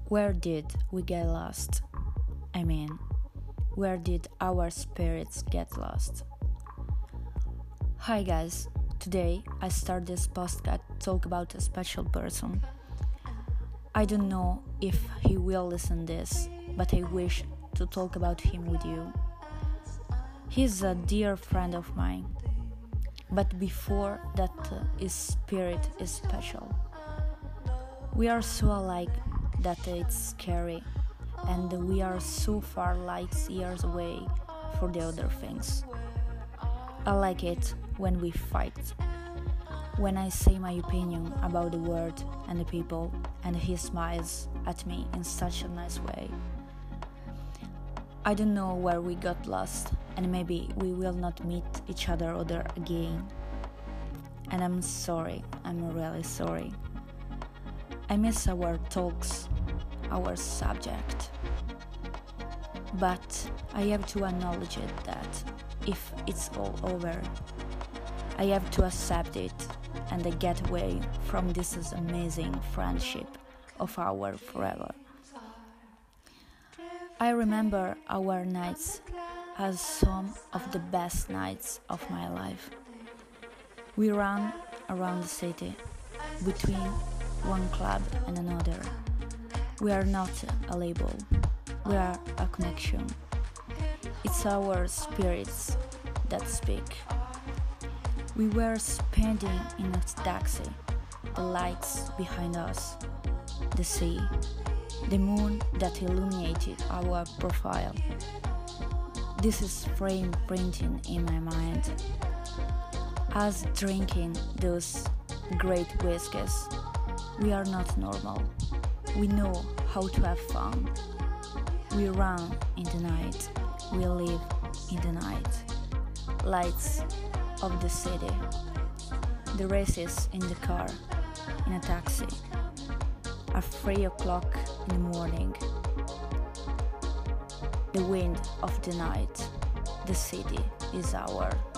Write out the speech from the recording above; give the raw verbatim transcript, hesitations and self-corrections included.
Where did we get lost? I mean, where did our spirits get lost? Hi guys, today I start this podcast to talk about a special person. I don't know if he will listen this, but I wish to talk about him with you. He's a dear friend of mine, but before that uh, his spirit is special. We are so alike that it's scary, and we are so far light years away for the other things. I like it when we fight, when I say my opinion about the world and the people, and he smiles at me in such a nice way. I don't know where we got lost, and maybe we will not meet each other other again. And I'm sorry, I'm really sorry. I miss our talks, our subject. But I have to acknowledge it that if it's all over, I have to accept it and get away from this amazing friendship of our forever. I remember our nights as some of the best nights of my life. We ran around the city between one club and another. We are not a label, we are a connection. It's our spirits that speak. We were spending in a taxi, the lights behind us, the sea, the moon that illuminated our profile. This is frame printing in my mind. Us drinking those great whiskies. We are not normal. We know how to have fun. We run in the night. We live in the night. Lights of the city. The races in the car, in a taxi. At three o'clock in the morning. The wind of the night. The city is ours.